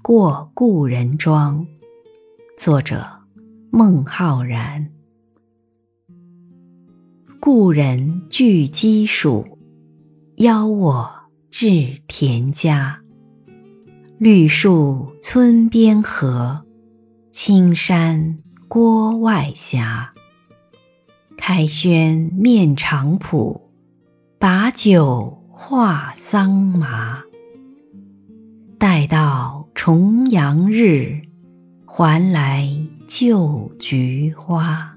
过故人庄。作者孟浩然。故人具鸡黍，邀我至田家。绿树村边合，青山郭外斜。开轩面场圃，把酒话桑麻。待到重阳日，还来就菊花。